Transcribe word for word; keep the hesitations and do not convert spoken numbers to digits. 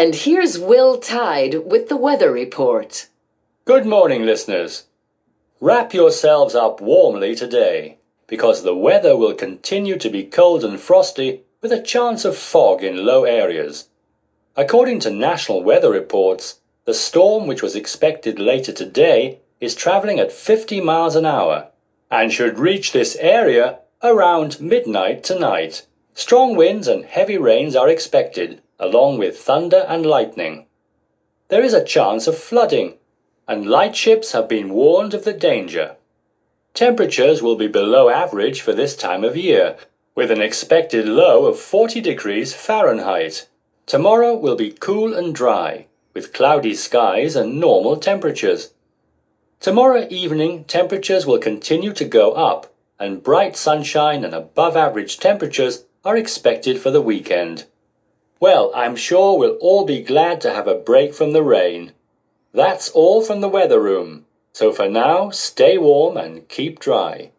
And here's Will Tide with the weather report. Good morning, listeners. Wrap yourselves up warmly today, because the weather will continue to be cold and frosty with a chance of fog in low areas. According to national weather reports, the storm which was expected later today is travelling at fifty miles an hour and should reach this area around midnight tonight. Strong winds and heavy rains are expected, along with thunder and lightning. There is a chance of flooding, and lightships have been warned of the danger. Temperatures will be below average for this time of year, with an expected low of forty degrees Fahrenheit. Tomorrow will be cool and dry, with cloudy skies and normal temperatures. Tomorrow evening, temperatures will continue to go up, and bright sunshine and above average temperatures are expected for the weekend. Well, I'm sure we'll all be glad to have a break from the rain. That's all from the weather room. So for now, stay warm and keep dry.